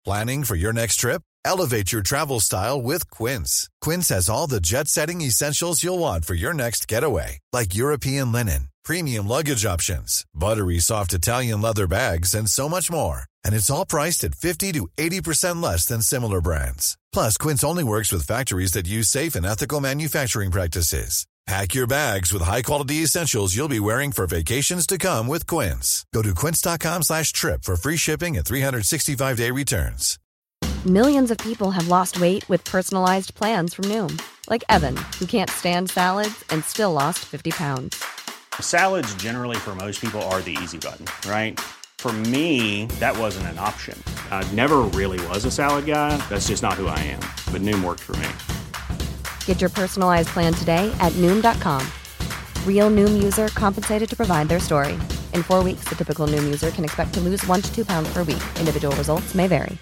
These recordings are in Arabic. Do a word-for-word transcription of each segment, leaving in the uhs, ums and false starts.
Planning for your next trip? Elevate your travel style with Quince. Quince has all the jet-setting essentials you'll want for your next getaway, like European linen, premium luggage options, buttery soft Italian leather bags, and so much more. And it's all priced at fifty to eighty percent less than similar brands. Plus, Quince only works with factories that use safe and ethical manufacturing practices. Pack your bags with high-quality essentials you'll be wearing for vacations to come with Quince. Go to quince.com slash trip for free shipping and three sixty-five day returns. Millions of people have lost weight with personalized plans from Noom. Like Evan, who can't stand salads and still lost fifty pounds. Salads generally for most people are the easy button, right? For me, that wasn't an option. I never really was a salad guy. That's just not who I am. But Noom worked for me. Get your personalized plan today at Noom dot com. Real Noom user compensated to provide their story. In four weeks, the typical Noom user can expect to lose one to two pounds per week. Individual results may vary.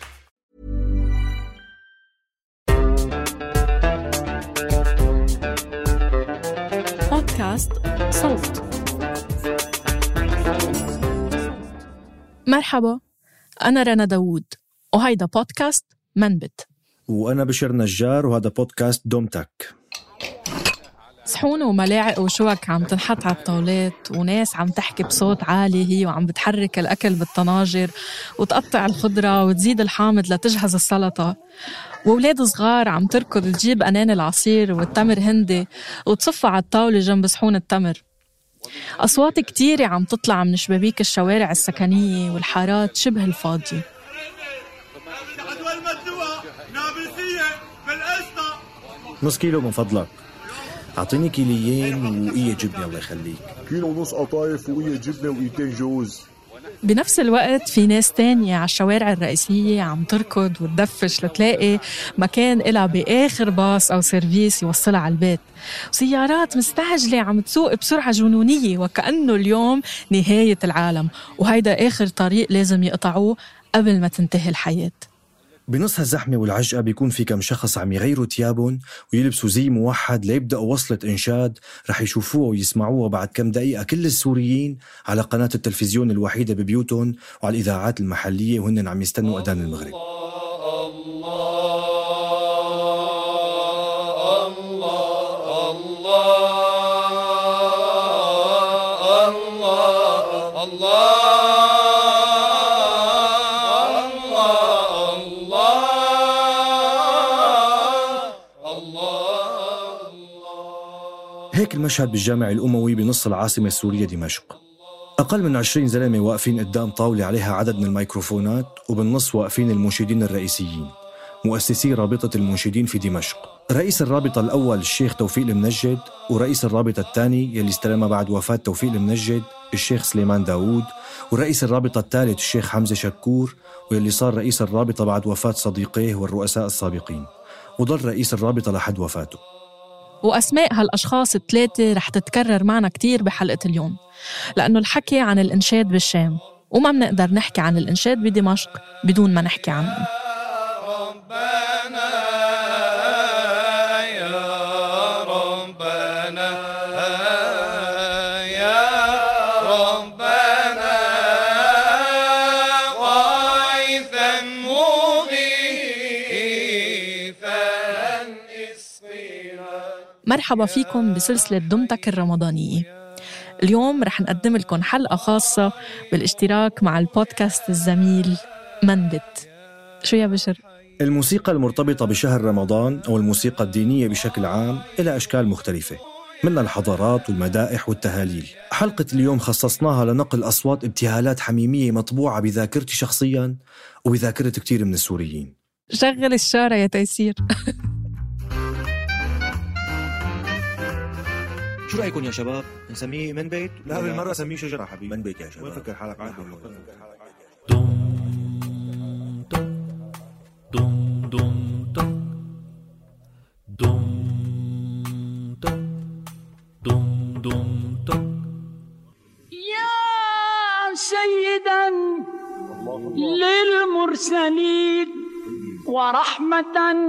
بودكاست صوت. مرحبا، أنا رنا داوود وهيدا بودكاست منبت. وأنا بشر نجار وهذا بودكاست دومتك. صحون وملاعق وشوك عم تنحط على الطاولات، وناس عم تحكي بصوت عالي هي وعم بتحرك الأكل بالطناجر وتقطع الخضرة وتزيد الحامض لتجهز السلطة، وولاد صغار عم تركض تجيب أنان العصير والتمر هندي وتصفها على الطاولة جنب صحون التمر. أصوات كتيرة عم تطلع من شبابيك الشوارع السكنية والحارات شبه الفاضية. نص كيلو من فضلك. أعطيني كيليين وقية جبنة الله يخليك. كيلو ونص قطايف وقية جبنة وقيتين جوز. بنفس الوقت في ناس تانية على الشوارع الرئيسية عم تركض وتدفش لتلاقي مكان إلها بآخر باص أو سيرفيس يوصلها على البيت، وسيارات مستعجلة عم تسوق بسرعة جنونية وكأنه اليوم نهاية العالم، وهيدا آخر طريق لازم يقطعوه قبل ما تنتهي الحياة. بنص هالزحمة والعجقة بيكون في كم شخص عم يغيروا تيابهم ويلبسوا زي موحد ليبدأوا وصلة إنشاد رح يشوفوها ويسمعوها بعد كم دقيقة كل السوريين على قناة التلفزيون الوحيدة ببيوتهم وعلى الإذاعات المحلية وهن عم يستنوا أذان المغرب. هيك المشهد بالجامع الأموي بنص العاصمة السورية دمشق. أقل من عشرين زلمة واقفين قدام طاولة عليها عدد من الميكروفونات، وبالنص واقفين المنشدين الرئيسيين مؤسسي رابطة المنشدين في دمشق. رئيس الرابطة الأول الشيخ توفيق المنجد، ورئيس الرابطة الثاني يلي استلمها بعد وفاة توفيق المنجد الشيخ سليمان داوود، ورئيس الرابطة الثالث الشيخ حمزة شكور، ويلي صار رئيس الرابطة بعد وفاة صديقيه والرؤساء السابقين، وظل رئيس الرابطة لحد وفاته. وأسماء هالأشخاص الثلاثة رح تتكرر معنا كتير بحلقة اليوم، لأنه الحكي عن الإنشاد بالشام، وما بنقدر نحكي عن الإنشاد بدمشق بدون ما نحكي عنه. مرحبا فيكم بسلسلة دومتك الرمضانية. اليوم رح نقدم لكم حلقة خاصة بالاشتراك مع البودكاست الزميل منبت. شو يا بشر؟ الموسيقى المرتبطة بشهر رمضان أو الموسيقى الدينية بشكل عام إلى أشكال مختلفة، منها الحضارات والمدائح والتهاليل. حلقة اليوم خصصناها لنقل أصوات ابتهالات حميمية مطبوعة بذاكرتي شخصياً وبذاكرة كتير من السوريين. شغل الشارع يا تيسير. شو رأيكم يا شباب؟ نسميه من بيت؟ لا بالمرة سميه شجرة حبيبي. من بيت يا شباب. وين فكر حالك من بيت؟ يا سيدا للمرسلين ورحمة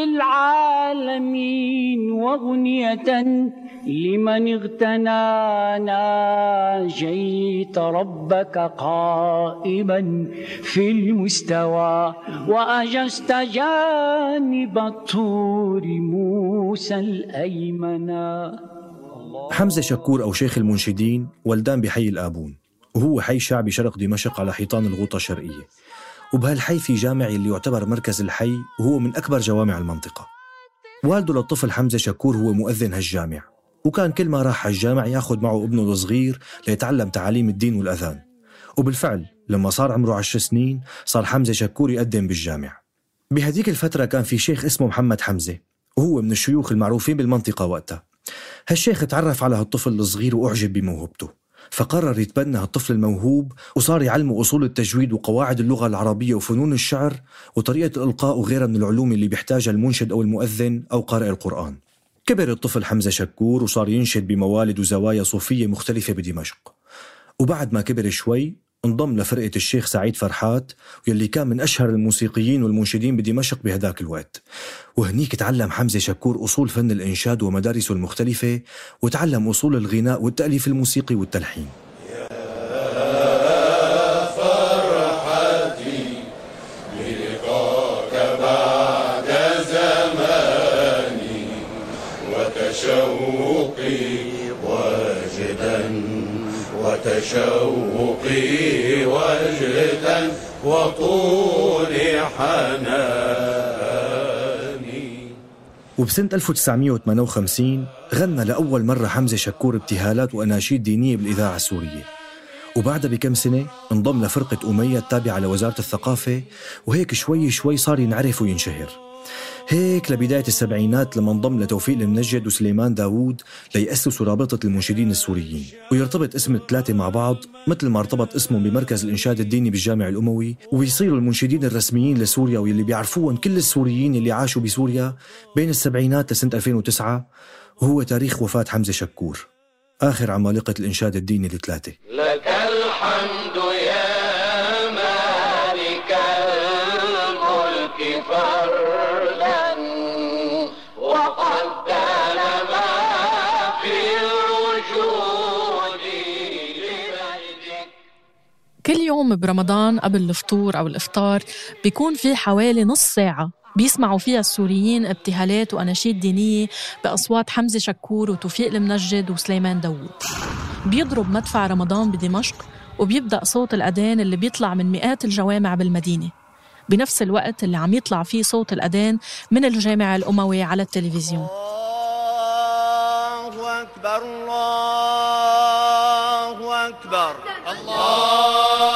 للعالمين وغنية لمن اغتنانا. جيت ربك قائما في المستوى وأجزت جانب الطور موسى الأيمنا. حمزة شكور أو شيخ المنشدين ولدان بحي الآبون، وهو حي شعبي شرق دمشق على حيطان الغوطة الشرقية، وبهالحي في جامع اللي يعتبر مركز الحي وهو من أكبر جوامع المنطقة. والده للطفل حمزة شكور هو مؤذن هالجامع، وكان كل ما راح هالجامع ياخد معه ابنه الصغير ليتعلم تعاليم الدين والأذان. وبالفعل لما صار عمره عشر سنين صار حمزة شكور يقدم بالجامع. بهديك الفترة كان في شيخ اسمه محمد حمزة، وهو من الشيوخ المعروفين بالمنطقة وقتها. هالشيخ تعرف على هالطفل الصغير وأعجب بموهبته، فقرر يتبنى هالطفل الموهوب وصار يعلمه أصول التجويد وقواعد اللغة العربية وفنون الشعر وطريقة الإلقاء وغيرها من العلوم اللي بيحتاجها المنشد أو المؤذن أو قارئ القرآن. كبر الطفل حمزة شكور وصار ينشد بموالد وزوايا صوفية مختلفة بدمشق. وبعد ما كبر شوي انضم لفرقة الشيخ سعيد فرحات، واللي كان من أشهر الموسيقيين والمنشدين بدمشق بهداك الوقت. وهنيك تعلم حمزة شكور أصول فن الإنشاد ومدارسه المختلفة، وتعلم أصول الغناء والتأليف الموسيقي والتلحين. يا فرحتي بلقاك بعد زماني وتشوقي واجدا وتشوقي وجدا وطول حناني. وبسنة ألف وتسعمية وثمانية وخمسين غنى لأول مرة حمزة شكور ابتهالات وأناشيد دينية بالإذاعة السورية، وبعدها بكم سنة انضم لفرقة أمية التابعة لوزارة الثقافة، وهيك شوي شوي صار ينعرف وينشهر. هيك لبداية السبعينات لما انضم لتوفيق المنجد وسليمان داوود ليأسسوا رابطة المنشدين السوريين، ويرتبط اسم الثلاثة مع بعض مثل ما ارتبط اسمهم بمركز الإنشاد الديني بالجامع الأموي، ويصيروا المنشدين الرسميين لسوريا واللي بيعرفوهم كل السوريين اللي عاشوا بسوريا بين السبعينات لسنة ألفين وتسعة، وهو تاريخ وفاة حمزة شكور آخر عمالقة الإنشاد الديني الثلاثة. لك الحمد يا مالك الملك فردا وقدر ما في الوجود لمجدك. كل يوم برمضان قبل الفطور أو الإفطار بيكون في حوالي نص ساعة بيسمعوا فيها السوريين ابتهالات وأناشيد دينية بأصوات حمزة شكور وتوفيق المنجد وسليمان داوود. بيضرب مدفع رمضان بدمشق وبيبدأ صوت الأذان اللي بيطلع من مئات الجوامع بالمدينة بنفس الوقت اللي عم يطلع فيه صوت الأذان من الجامع الأموي على التلفزيون. الله أكبر الله أكبر الله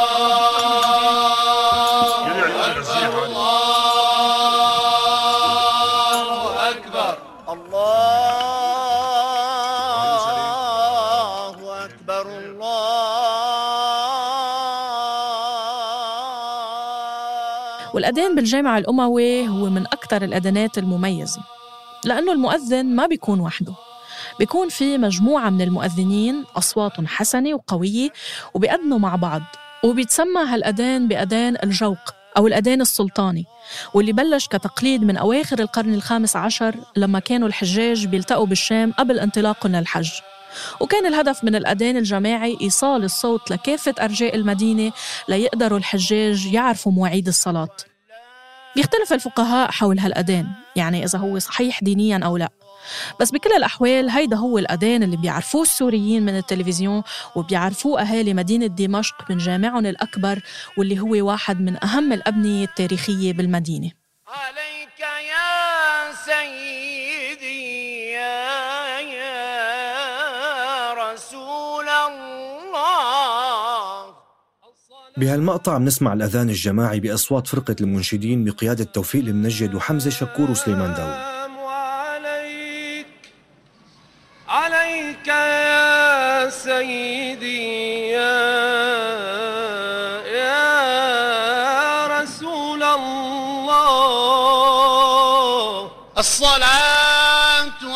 والأذان بالجامع الأموي هو من أكثر الأذانات المميزة، لأنه المؤذن ما بيكون وحده، بيكون في مجموعة من المؤذنين أصوات حسنة وقوية وبيأذنوا مع بعض، وبيتسمى هالأذان بأذان الجوق أو الأذان السلطاني، واللي بلش كتقليد من أواخر القرن الخامس عشر لما كانوا الحجاج بيلتقوا بالشام قبل انطلاقهم للحج. وكان الهدف من الأذان الجماعي إيصال الصوت لكافة أرجاء المدينة ليقدروا الحجاج يعرفوا مواعيد الصلاة. بيختلف الفقهاء حول هالأذان، يعني إذا هو صحيح دينياً أو لا، بس بكل الأحوال هيدا هو الأذان اللي بيعرفوه السوريين من التلفزيون وبيعرفوه أهالي مدينة دمشق من جامعهم الأكبر، واللي هو واحد من أهم الأبنية التاريخية بالمدينة. عليك يا سيدي يا, يا رسول الله. بهالمقطع عم نسمع الأذان الجماعي بأصوات فرقة المنشدين بقيادة توفيق المنجد وحمزة شكور وسليمان داوود. عليك يا سيدي يا, يا رسول الله. الصلاة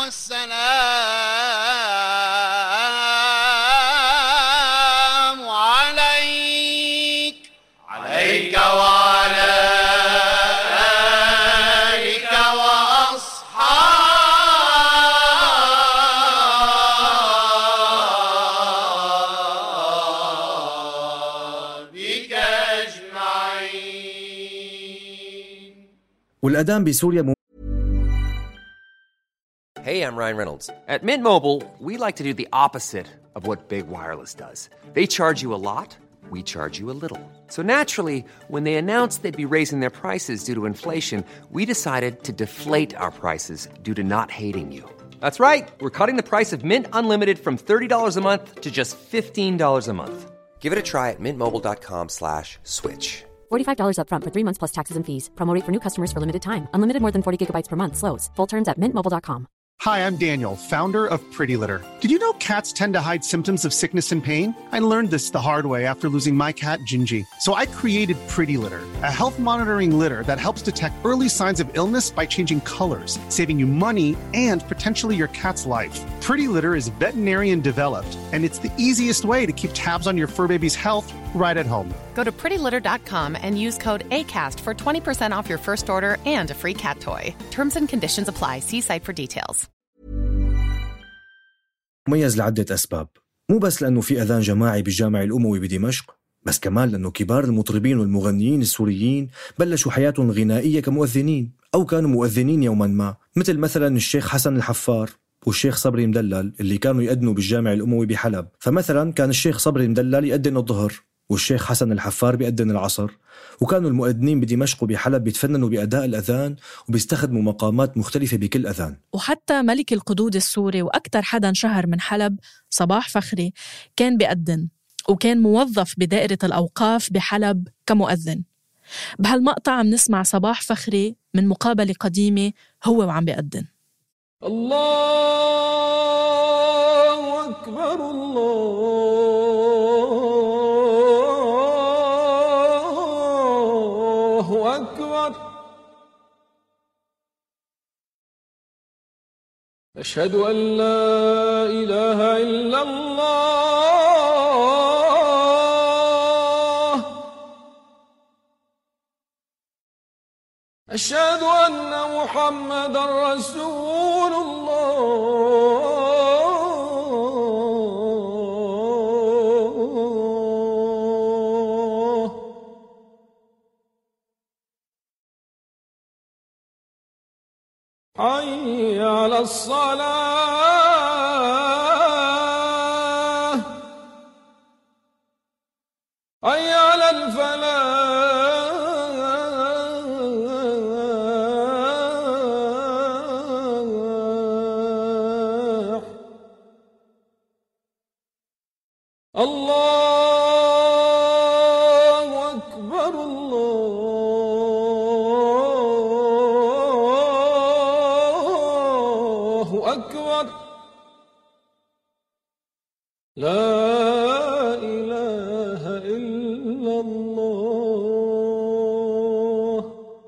والسلام عليك عليك وعلى والأذان بسوريا م... Hey, I'm Ryan Reynolds. At Mint Mobile, we like to do the opposite of what Big Wireless does. They charge you a lot, we charge you a little. So naturally, when they announced they'd be raising their prices due to inflation, we decided to deflate our prices due to not hating you. That's right. We're cutting the price of Mint Unlimited from thirty dollars a month to just fifteen dollars a month. Give it a try at mintmobile.com slash switch. forty-five dollars up front for three months plus taxes and fees. Promo rate for new customers for limited time. Unlimited more than forty gigabytes per month. Slows full terms at mint mobile dot com. Hi, I'm Daniel, founder of Pretty Litter. Did you know cats tend to hide symptoms of sickness and pain? I learned this the hard way after losing my cat, Gingy. So I created Pretty Litter, a health monitoring litter that helps detect early signs of illness by changing colors, saving you money and potentially your cat's life. Pretty Litter is veterinarian developed, and it's the easiest way to keep tabs on your fur baby's health right at home. Go to pretty litter dot com and use code ACAST for twenty percent off your first order and a free cat toy. Terms and conditions apply. See site for details. مميز لعدة أسباب، مو بس لأنه في أذان جماعي بالجامع الأموي بدمشق، بس كمان لأنه كبار المطربين والمغنيين السوريين بلشوا حياتهم غنائية كمؤذنين أو كانوا مؤذنين يوما ما، مثل مثلا الشيخ حسن الحفار والشيخ صبري مدلل اللي كانوا يأذنوا بالجامع الأموي بحلب. فمثلا كان الشيخ صبري مدلل يأذن الظهر والشيخ حسن الحفار بيأذن العصر، وكانوا المؤذنين بدمشق وبحلب بيتفننوا بأداء الأذان وبيستخدموا مقامات مختلفة بكل أذان. وحتى ملك القدود السوري وأكثر حدا انشهر من حلب صباح فخري كان بيأذن، وكان موظف بدائرة الأوقاف بحلب كمؤذن. بهالمقطع عم نسمع صباح فخري من مقابلة قديمة هو وعم بيأذن. الله أكبر الله أكبر أشهد أن لا إله إلا الله أشهد أن محمدًا رسول الله حي على الصلاة حي على الفلاح الله أكبر الله أكبر لا إله إلا الله.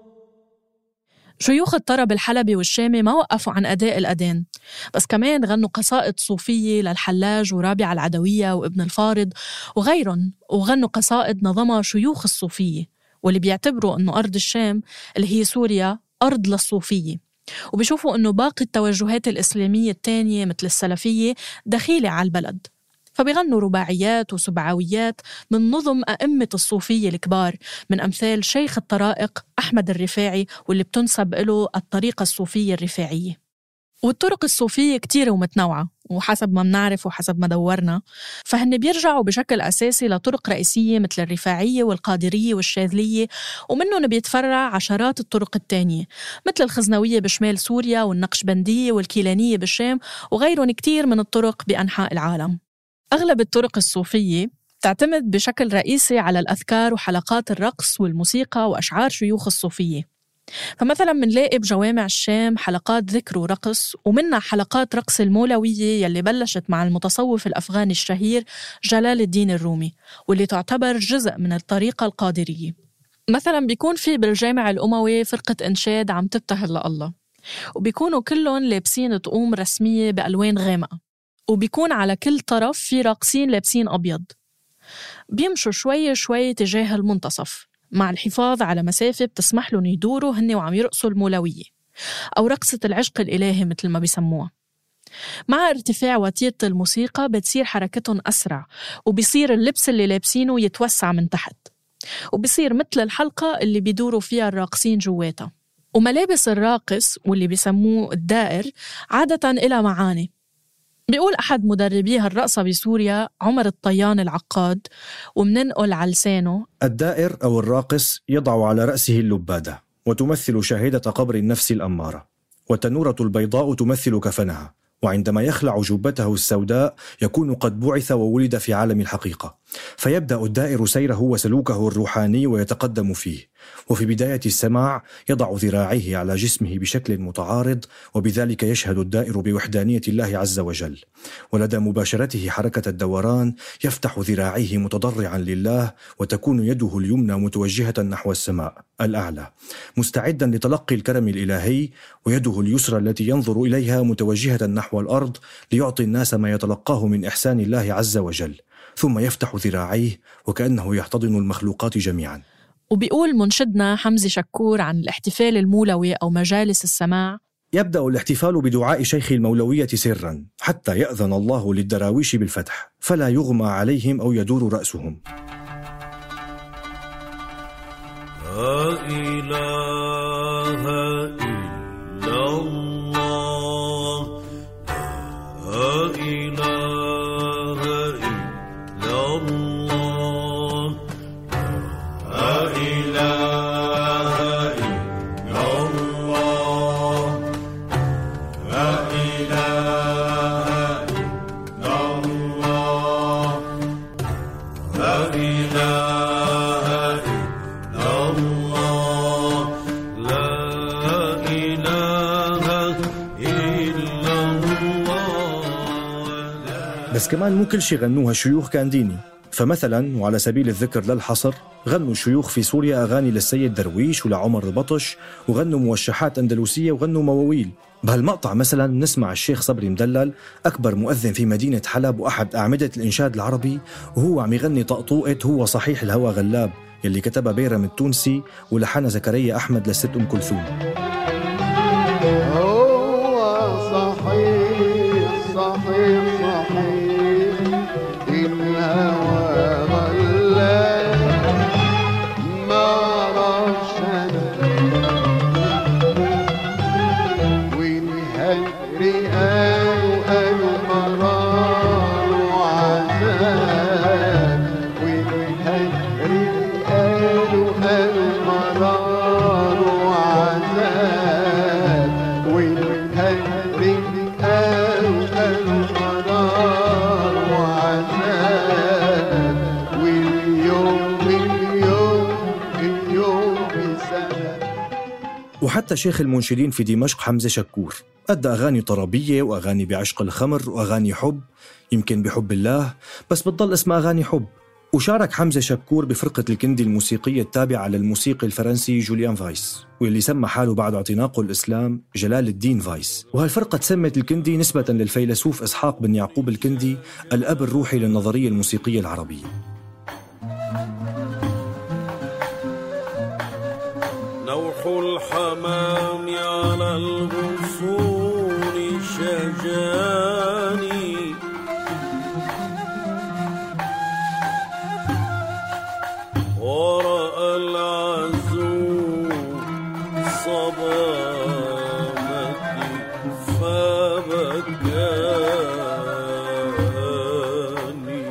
شيوخ الطرب الحلبي والشامي ما وقفوا عن أداء الأذان، بس كمان غنوا قصائد صوفية للحلاج ورابعة العدوية وابن الفارض وغيرهم، وغنوا قصائد نظمها شيوخ الصوفية واللي بيعتبروا أنه أرض الشام اللي هي سوريا أرض للصوفية، وبيشوفوا أنه باقي التوجهات الإسلامية التانية مثل السلفية دخيلة على البلد. فبيغنوا رباعيات وسبعويات من نظم أئمة الصوفية الكبار، من أمثال شيخ الطرائق أحمد الرفاعي واللي بتنسب له الطريقة الصوفية الرفاعية. والطرق الصوفية كتيرة ومتنوعة، وحسب ما منعرف وحسب ما دورنا فهن بيرجعوا بشكل أساسي لطرق رئيسية مثل الرفاعية والقادرية والشاذلية، ومنهم بيتفرع عشرات الطرق التانية مثل الخزنوية بشمال سوريا والنقشبندية والكيلانية بالشام وغيرهم كتير من الطرق بأنحاء العالم. أغلب الطرق الصوفية تعتمد بشكل رئيسي على الأذكار وحلقات الرقص والموسيقى وأشعار شيوخ الصوفية. فمثلا منلاقي بجوامع الشام حلقات ذكر ورقص، ومنها حلقات رقص المولوية يلي بلشت مع المتصوف الأفغاني الشهير جلال الدين الرومي، واللي تعتبر جزء من الطريقة القادرية. مثلا بيكون في بالجامع الأموي فرقة إنشاد عم تبتهل لله، وبيكونوا كلهم لابسين طقوم رسمية بألوان غامقة، وبيكون على كل طرف في راقصين لابسين أبيض. بيمشوا شوي شوي تجاه المنتصف مع الحفاظ على مسافة بتسمح لهم يدوروا هن وعم يرقصوا المولوية أو رقصة العشق الإلهي مثل ما بيسموها. مع ارتفاع وتيرة الموسيقى بتصير حركتهم أسرع، وبيصير اللبس اللي لابسينه يتوسع من تحت، وبيصير مثل الحلقة اللي بيدوروا فيها الراقصين جواتها. وملابس الراقص واللي بيسموه الدائر عادة إلى معاني. بيقول أحد مدربيها الرقصة بسوريا عمر الطيان العقاد، ومننقل على لسانه: الدائر أو الراقص يضع على رأسه اللبادة، وتمثل شاهدة قبر النفس الأمارة، والتنورة البيضاء تمثل كفنها، وعندما يخلع جبته السوداء يكون قد بعث وولد في عالم الحقيقة، فيبدأ الدائر سيره وسلوكه الروحاني ويتقدم فيه. وفي بداية السماع يضع ذراعيه على جسمه بشكل متعارض، وبذلك يشهد الدائر بوحدانية الله عز وجل. ولدى مباشرته حركة الدوران يفتح ذراعيه متضرعا لله، وتكون يده اليمنى متوجهة نحو السماء الأعلى مستعدا لتلقي الكرم الإلهي، ويده اليسرى التي ينظر إليها متوجهة نحو الأرض ليعطي الناس ما يتلقاه من إحسان الله عز وجل. ثم يفتح ذراعيه وكأنه يحتضن المخلوقات جميعا. وبيقول منشدنا حمزة شكور عن الاحتفال المولوي أو مجالس السماع: يبدأ الاحتفال بدعاء شيخ المولوية سرا حتى يأذن الله للدراويش بالفتح، فلا يغمى عليهم أو يدور رأسهم. لا إله إلا الله، لا إله إلا الله، لا إله إلا الله، لا إله إلا الله، لا إله إلا الله، لا إله إلا الله. بس كمان مو كل شي غنوها شيوخ كان ديني. فمثلا وعلى سبيل الذكر للحصر، غنوا شيوخ في سوريا أغاني للسيد درويش ولعمر البطش، وغنوا موشحات أندلسية، وغنوا مواويل. بهالمقطع مثلا نسمع الشيخ صبري مدلل، أكبر مؤذن في مدينة حلب وأحد أعمدة الإنشاد العربي، وهو عم يغني طقطوقة هو صحيح الهوى غلاب يلي كتبها بيرم التونسي ولحنها زكريا أحمد للست أم كلثوم. هو صحيح صحيح صحيح الهوى غلاب ما رشد والهجر قالوا قالوا مرار وعذاب، والهجر قالوا قالوا مرار وعذاب، والهجر قالوا قالوا مرار وعذاب، واليوم اليوم اليوم بسنة. وحتى شيخ المنشدين في دمشق حمزة شكور أدى أغاني طربية وأغاني بعشق الخمر وأغاني حب، يمكن بحب الله، بس بتضل اسمها أغاني حب. وشارك حمزة شكور بفرقة الكندي الموسيقية التابعة للموسيقي الفرنسي جوليان فايس، واللي سمى حاله بعد اعتناقه الإسلام جلال الدين فايس. وهالفرقة تسمت الكندي نسبة للفيلسوف إسحاق بن يعقوب الكندي، الأب الروحي للنظرية الموسيقية العربية. نوح الحمام على الغصون شجاني، ورأى العزو صبامتي فبكاني.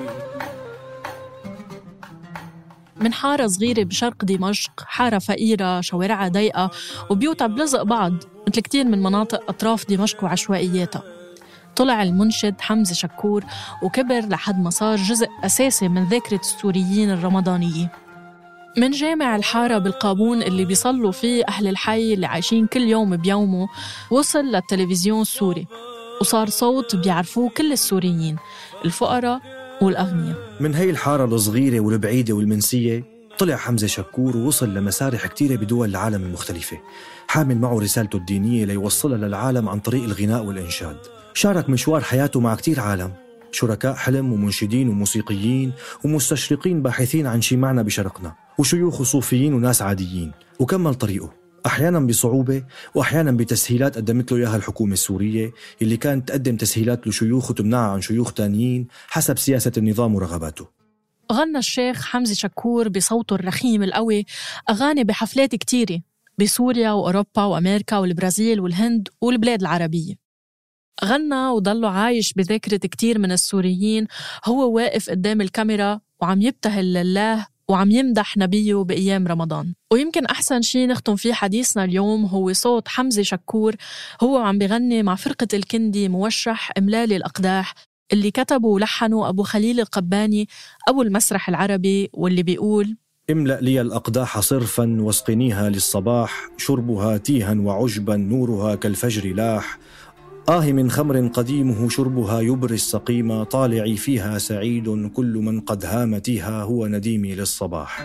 من حارة صغيرة بشرق دمشق، حارة فقيرة شوارعها ضيقة وبيوتها بلزق بعض مثل كتير من مناطق أطراف دمشق وعشوائياتها. طلع المنشد حمزة شكور وكبر لحد ما صار جزء أساسي من ذاكرة السوريين الرمضانية. من جامع الحارة بالقابون اللي بيصلوا فيه أهل الحي اللي عايشين كل يوم بيومه، وصل للتلفزيون السوري وصار صوت بيعرفوه كل السوريين، الفقراء والأغنياء. من هاي الحارة الصغيرة والبعيدة والمنسية طلع حمزة شكور ووصل لمسارح كتيرة بدول العالم المختلفة، حامل معه رسالته الدينية ليوصلها للعالم عن طريق الغناء والإنشاد. شارك مشوار حياته مع كتير عالم، شركاء حلم ومنشدين وموسيقيين ومستشرقين باحثين عن شي معنى بشرقنا، وشيوخ وصوفيين وناس عاديين. وكمل طريقه أحياناً بصعوبة وأحياناً بتسهيلات قدمت له إياها الحكومة السورية، اللي كانت تقدم تسهيلات لشيوخ وتمنعها عن شيوخ تانيين حسب سياسة النظام ورغباته. غنى الشيخ حمزة شكور بصوته الرخيم القوي أغاني بحفلات كتيرة، بسوريا وأوروبا وأمريكا والبرازيل والهند والبلاد العربية. غنى وضله عايش بذاكرة كتير من السوريين هو واقف قدام الكاميرا وعم يبتهل لله وعم يمدح نبيه بأيام رمضان. ويمكن أحسن شي نختم فيه حديثنا اليوم هو صوت حمزة شكور هو عم بغني مع فرقة الكندي موشح إملالي الأقداح اللي كتبوا ولحنوا أبو خليل القباني أبو المسرح العربي، واللي بيقول: املأ لي الأقداح صرفا واسقنيها للصباح، شربها تيها وعجبا نورها كالفجر لاح، آه من خمر قديمه شربها يبري السقيم، طالعي فيها سعيد كل من قد هام تيها، هو نديمي للصباح.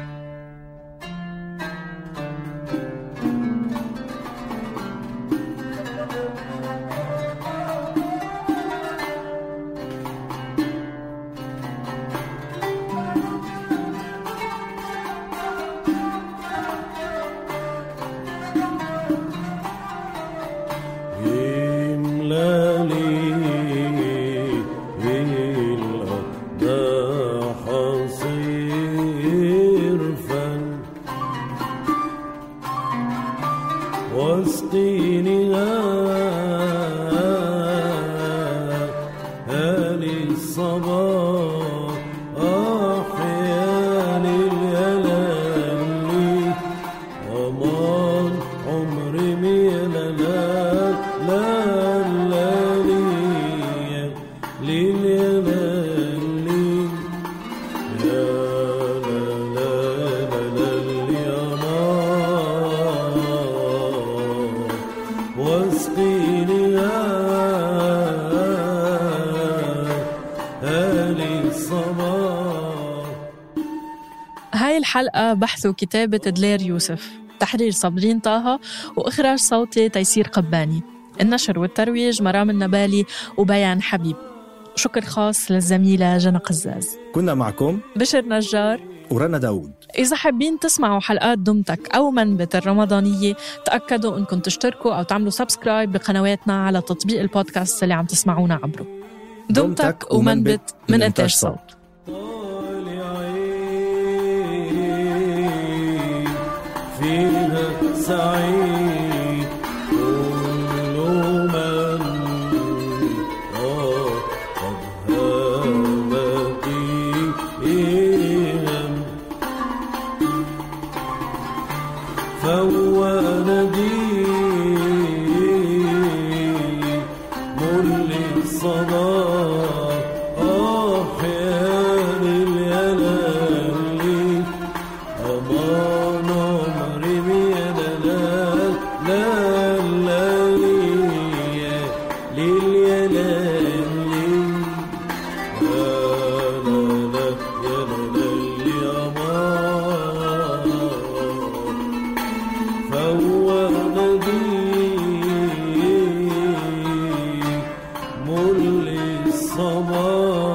هاي الحلقة بحث وكتابة دلير يوسف، تحرير صابرين طه، وإخراج صوتي تيسير قباني، النشر والترويج مرام النبالي وبيان حبيب. شكر خاص للزميلة جنى قزاز. كنا معكم بشر نجار ورنا داود. إذا حابين تسمعوا حلقات دمتك أو منبت الرمضانية، تأكدوا أنكم تشتركوا أو تعملوا سبسكرايب بقنواتنا على تطبيق البودكاست اللي عم تسمعونا عبره. دمتك ومنبت من إنتاج صوت. فيها سعيد كل من آه قد هامت إيهم، فهو نديم للصباح أحيان اليلالي، أمان عمري بيلالال لالالي لليلالي لا لا يلالي أمان، فهو نديم للصباح.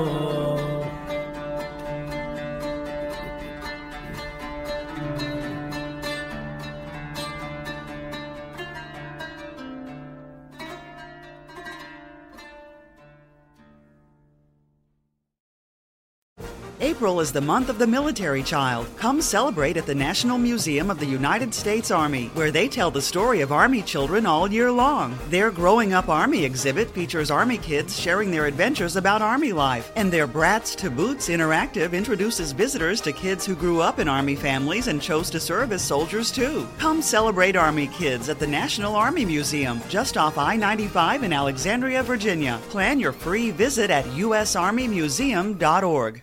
April is the month of the military child. Come celebrate at the National Museum of the United States Army, where they tell the story of Army children all year long. Their Growing Up Army exhibit features Army kids sharing their adventures about Army life, and their Brats to Boots interactive introduces visitors to kids who grew up in Army families and chose to serve as soldiers too. Come celebrate Army kids at the National Army Museum, just off I ninety-five in Alexandria, Virginia. Plan your free visit at u s army museum dot org.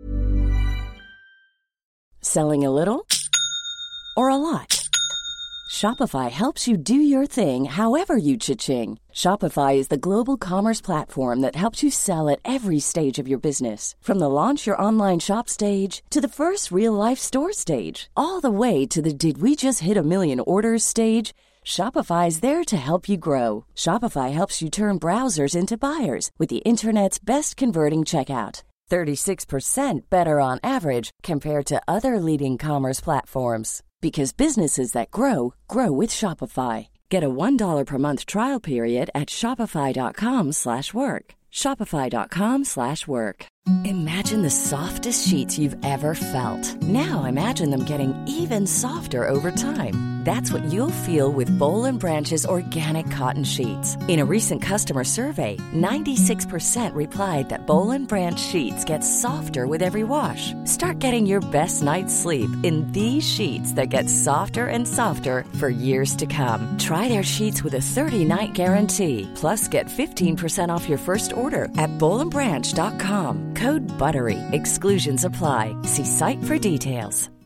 Selling a little or a lot? Shopify helps you do your thing however you cha-ching. Shopify is the global commerce platform that helps you sell at every stage of your business. From the launch your online shop stage to the first real-life store stage, all the way to the did we just hit a million orders stage. Shopify is there to help you grow. Shopify helps you turn browsers into buyers with the internet's best converting checkout. thirty-six percent better on average compared to other leading commerce platforms. Because businesses that grow, grow with Shopify. Get a one dollar per month trial period at shopify dot com slash work. Shopify dot com slash work. Imagine the softest sheets you've ever felt. Now imagine them getting even softer over time. That's what you'll feel with Boll and Branch's organic cotton sheets. In a recent customer survey, ninety-six percent replied that Boll and Branch sheets get softer with every wash. Start getting your best night's sleep in these sheets that get softer and softer for years to come. Try their sheets with a thirty-night guarantee. Plus, get fifteen percent off your first order at boll and branch dot com. Code BUTTERY. Exclusions apply. See site for details.